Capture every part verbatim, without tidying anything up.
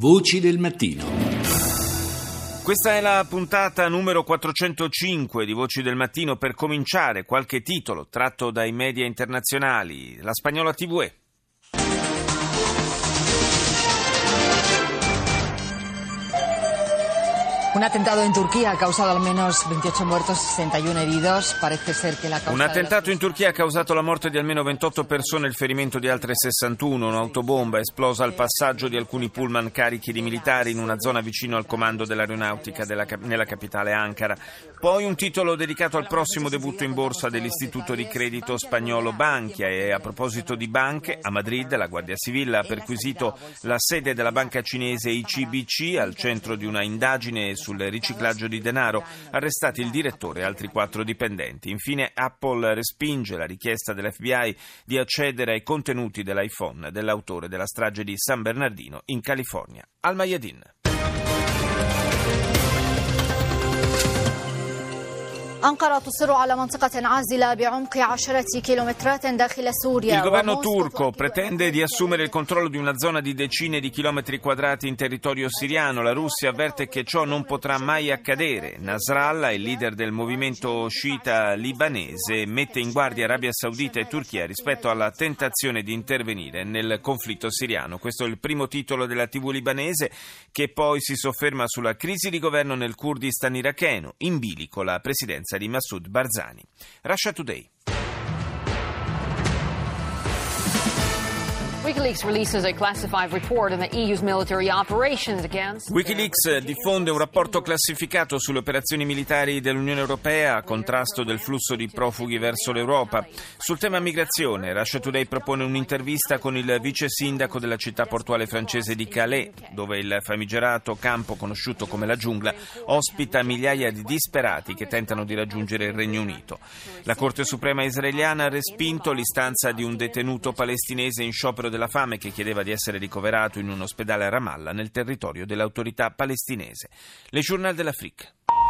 Voci del mattino. Questa è la puntata numero quattrocentocinque di Voci del Mattino. Per cominciare, qualche titolo tratto dai media internazionali. La Spagnola T V E. Un attentato in Turchia ha causato almeno veintiocho muertos, sesenta y uno heridos. Parece ser che la causa Un attentato in Turchia ha causato la morte di almeno ventotto persone e il ferimento di altre sessantuno. Un'autobomba è esplosa al passaggio di alcuni pullman carichi di militari in una zona vicino al comando dell'aeronautica della, nella capitale Ankara. Poi un titolo dedicato al prossimo debutto in borsa dell'istituto di credito spagnolo Bankia. E a proposito di banche, a Madrid la Guardia Civile ha perquisito la sede della banca cinese I C B C al centro di una indagine sul riciclaggio di denaro, arrestati il direttore e altri quattro dipendenti. Infine Apple respinge la richiesta dell'F B I di accedere ai contenuti dell'iPhone dell'autore della strage di San Bernardino in California. Al Mayadin. أنقرة تصر على منطقة عازلة بعمق عشرة كيلومترات داخل سوريا. Il governo turco pretende di assumere il controllo di una zona di decine di chilometri quadrati in territorio siriano. La Russia avverte che ciò non potrà mai accadere. Nasrallah, il leader del movimento sciita libanese, mette in guardia Arabia Saudita e Turchia rispetto alla tentazione di intervenire nel conflitto siriano. Questo è il primo titolo della tivù libanese, che poi si sofferma sulla crisi di governo nel Kurdistan iracheno, in bilico la presidenza di Massoud Barzani. Russia Today. WikiLeaks releases a classified report on the E U's military operations against... WikiLeaks diffonde un rapporto classificato sulle operazioni militari dell'Unione Europea a contrasto del flusso di profughi verso l'Europa. Sul tema migrazione, Russia Today propone un'intervista con il vice sindaco della città portuale francese di Calais, dove il famigerato campo conosciuto come la giungla ospita migliaia di disperati che tentano di raggiungere il Regno Unito. La Corte Suprema israeliana ha respinto l'istanza di un detenuto palestinese in sciopero della fame che chiedeva di essere ricoverato in un ospedale a Ramallah nel territorio dell'autorità palestinese. Le Journal de l'Afrique.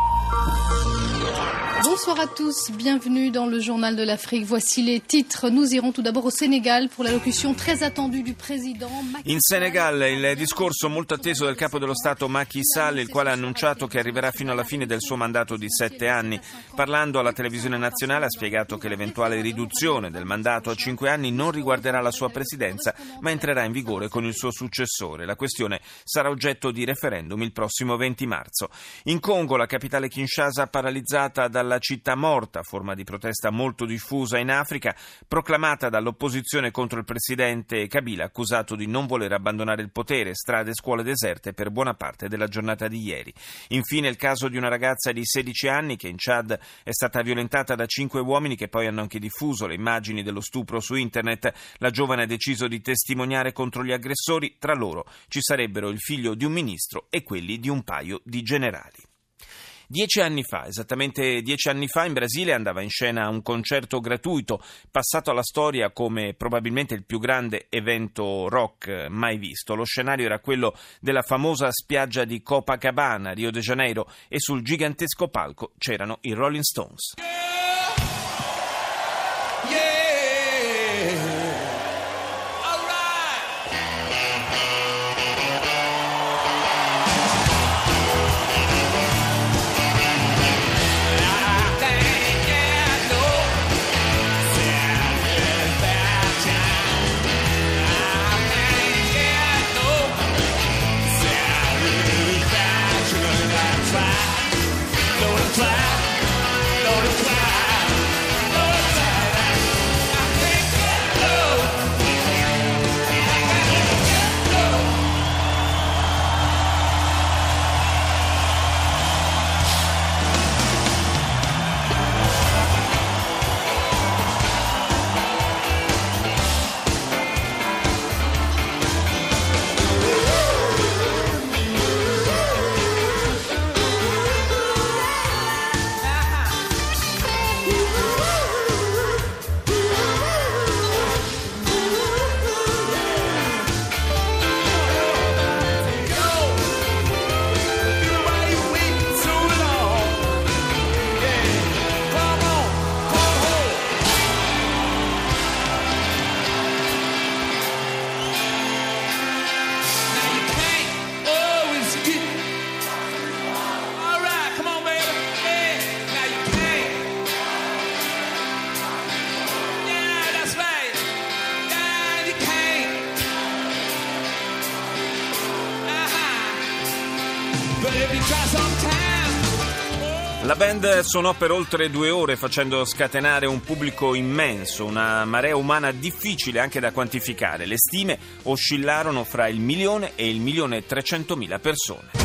Bonsoir à tous, bienvenue dans le Journal de l'Afrique. Voici les titres. Nous irons tout d'abord au Sénégal pour l'allocution très attendue du président Macky Sall. In Senegal il discorso molto atteso del capo dello Stato Macky Sall, il quale ha annunciato che arriverà fino alla fine del suo mandato di sette anni. Parlando alla televisione nazionale ha spiegato che l'eventuale riduzione del mandato a cinque anni non riguarderà la sua presidenza, ma entrerà in vigore con il suo successore. La questione sarà oggetto di referendum il prossimo venti marzo. In Congo, la capitale Kinshasa paralizzata dalla città morta, forma di protesta molto diffusa in Africa, proclamata dall'opposizione contro il presidente Kabila, accusato di non voler abbandonare il potere, strade e scuole deserte per buona parte della giornata di ieri. Infine il caso di una ragazza di sedici anni che in Chad è stata violentata da cinque uomini che poi hanno anche diffuso le immagini dello stupro su internet. La giovane ha deciso di testimoniare contro gli aggressori, tra loro ci sarebbero il figlio di un ministro e quelli di un paio di generali. Dieci anni fa, esattamente dieci anni fa, in Brasile andava in scena un concerto gratuito, passato alla storia come probabilmente il più grande evento rock mai visto. Lo scenario era quello della famosa spiaggia di Copacabana, Rio de Janeiro, e sul gigantesco palco c'erano i Rolling Stones. Fly, fly, fly. La band suonò per oltre due ore facendo scatenare un pubblico immenso, una marea umana difficile anche da quantificare. Le stime oscillarono fra il milione e il milione e trecentomila persone.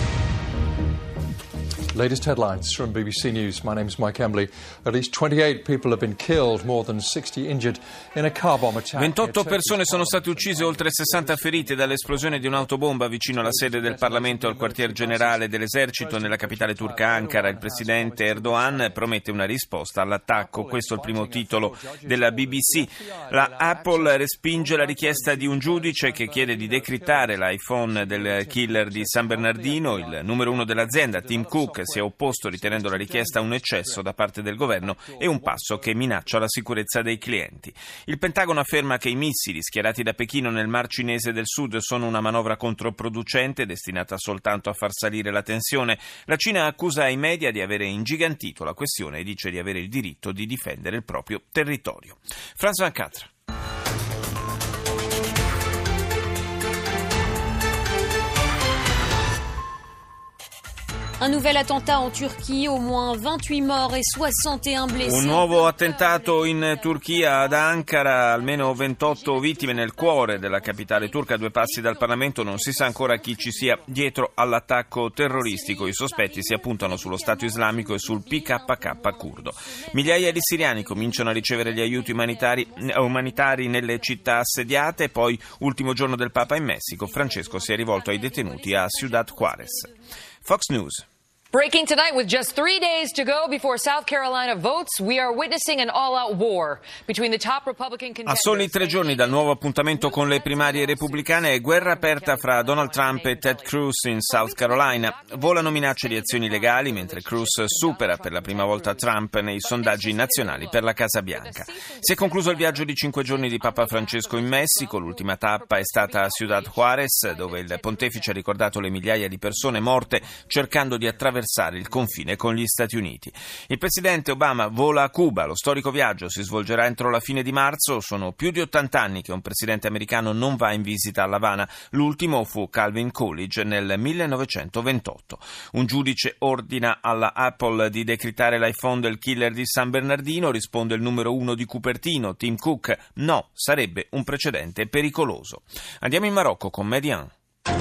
Latest headlines from B B C News. My name is Mike Embley. At least twenty-eight people have been killed, more than sixty injured in a car bomb attack. ventotto persone sono state uccise, oltre sessanta ferite dall'esplosione di un'autobomba vicino alla sede del Parlamento e al quartier generale dell'esercito nella capitale turca Ankara. Il presidente Erdogan promette una risposta all'attacco. Questo è il primo titolo della B B C. La Apple respinge la richiesta di un giudice che chiede di decrittare l'iPhone del killer di San Bernardino. Il numero uno dell'azienda, Tim Cook, si è opposto ritenendo la richiesta un eccesso da parte del governo e un passo che minaccia la sicurezza dei clienti. Il Pentagono afferma che i missili schierati da Pechino nel Mar Cinese del Sud sono una manovra controproducente destinata soltanto a far salire la tensione. La Cina accusa i media di avere ingigantito la questione e dice di avere il diritto di difendere il proprio territorio. Franz Van Catra. Un nouvel attentat en Turchie, au moins vingt-huit morts et soixante et un blessés. Un nuovo attentato in Turchia, ad Ankara, almeno ventotto vittime nel cuore della capitale turca, a due passi dal Parlamento. Non si sa ancora chi ci sia dietro all'attacco terroristico. I sospetti si appuntano sullo Stato islamico e sul P K K curdo. Migliaia di siriani cominciano a ricevere gli aiuti umanitari, umanitari nelle città assediate. Poi, ultimo giorno del Papa in Messico, Francesco si è rivolto ai detenuti a Ciudad Juárez. Fox News. Breaking tonight, with just three days to go before South Carolina votes, we are witnessing an all-out war between the top Republican contenders. A soli tre giorni dal nuovo appuntamento con le primarie repubblicane è guerra aperta fra Donald Trump e Ted Cruz in South Carolina. Volano minacce di azioni legali mentre Cruz supera per la prima volta Trump nei sondaggi nazionali per la Casa Bianca. Si è concluso il viaggio di cinque giorni di Papa Francesco in Messico. L'ultima tappa è stata a Ciudad Juárez, dove il pontefice ha ricordato le migliaia di persone morte cercando di attraversare il confine con gli Stati Uniti. Il presidente Obama vola a Cuba. Lo storico viaggio si svolgerà entro la fine di marzo. Sono più di ottanta anni che un presidente americano non va in visita a L'Avana. L'ultimo fu Calvin Coolidge nel millenovecentoventotto. Un giudice ordina alla Apple di decrittare l'iPhone del killer di San Bernardino. Risponde il numero uno di Cupertino, Tim Cook. No, sarebbe un precedente pericoloso. Andiamo in Marocco con Median.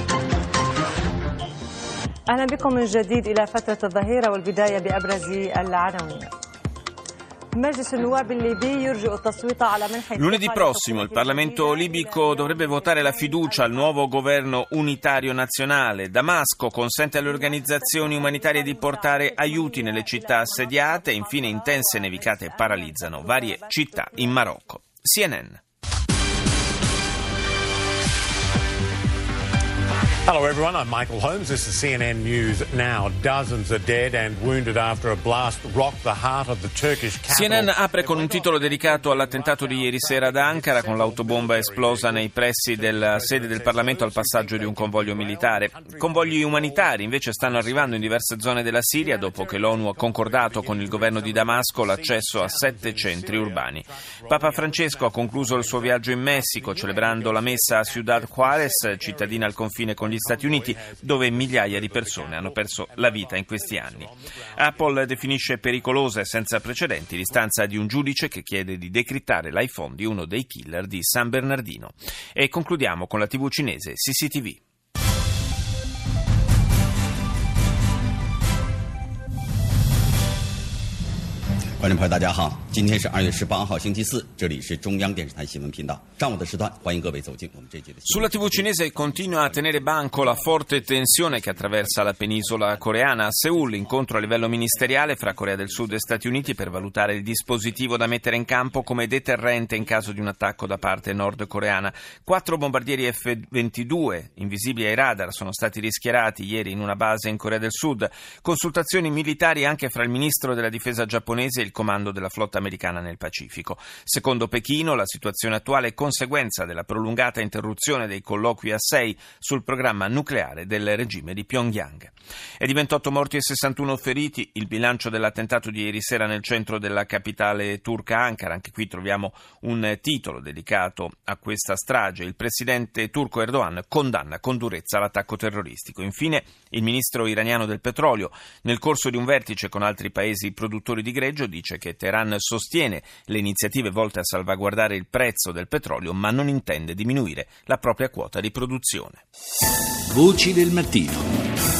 أهلا بكم من جديد إلى فترة الظهيرة والبداية بأبرز العناوين. Lunedì prossimo il Parlamento libico dovrebbe votare la fiducia al nuovo governo unitario nazionale. Damasco consente alle organizzazioni umanitarie di portare aiuti nelle città assediate e infine intense nevicate paralizzano varie città in Marocco. C N N. Hello everyone, I'm Michael Holmes. This is C N N News Now. Dozens are dead and wounded after a blast rocked the heart of the Turkish capital. C N N apre con un titolo dedicato all'attentato di ieri sera ad Ankara, con l'autobomba esplosa nei pressi della sede del Parlamento al passaggio di un convoglio militare. Convogli umanitari invece stanno arrivando in diverse zone della Siria dopo che l'ONU ha concordato con il governo di Damasco l'accesso a sette centri urbani. Papa Francesco ha concluso il suo viaggio in Messico celebrando la messa a Ciudad Juárez, cittadina al confine con gli Stati Uniti, dove migliaia di persone hanno perso la vita in questi anni. Apple definisce pericolosa e senza precedenti l'istanza di un giudice che chiede di decrittare l'iPhone di uno dei killer di San Bernardino. E concludiamo con la tivù cinese C C T V. 观众朋友大家好，今天是二月十八号星期四，这里是中央电视台新闻频道，上午的时段欢迎各位走进我们这节的。 Sulla tivù cinese continua a tenere banco la forte tensione che attraversa la penisola coreana. A Seul, incontro a livello ministeriale fra Corea del Sud e Stati Uniti per valutare il dispositivo da mettere in campo come deterrente in caso di un attacco da parte nordcoreana. Quattro bombardieri F ventidue invisibili ai radar sono stati rischierati ieri in una base in Corea del Sud. Consultazioni militari anche fra il ministro della difesa giapponese e il comando della flotta americana nel Pacifico. Secondo Pechino, la situazione attuale è conseguenza della prolungata interruzione dei colloqui a sei sul programma nucleare del regime di Pyongyang. E di ventotto morti e sessantuno feriti il bilancio dell'attentato di ieri sera nel centro della capitale turca Ankara. Anche qui troviamo un titolo dedicato a questa strage. Il presidente turco Erdogan condanna con durezza l'attacco terroristico. Infine, il ministro iraniano del petrolio, nel corso di un vertice con altri paesi produttori di greggio, dice che Teheran sostiene le iniziative volte a salvaguardare il prezzo del petrolio, ma non intende diminuire la propria quota di produzione. Voci del mattino.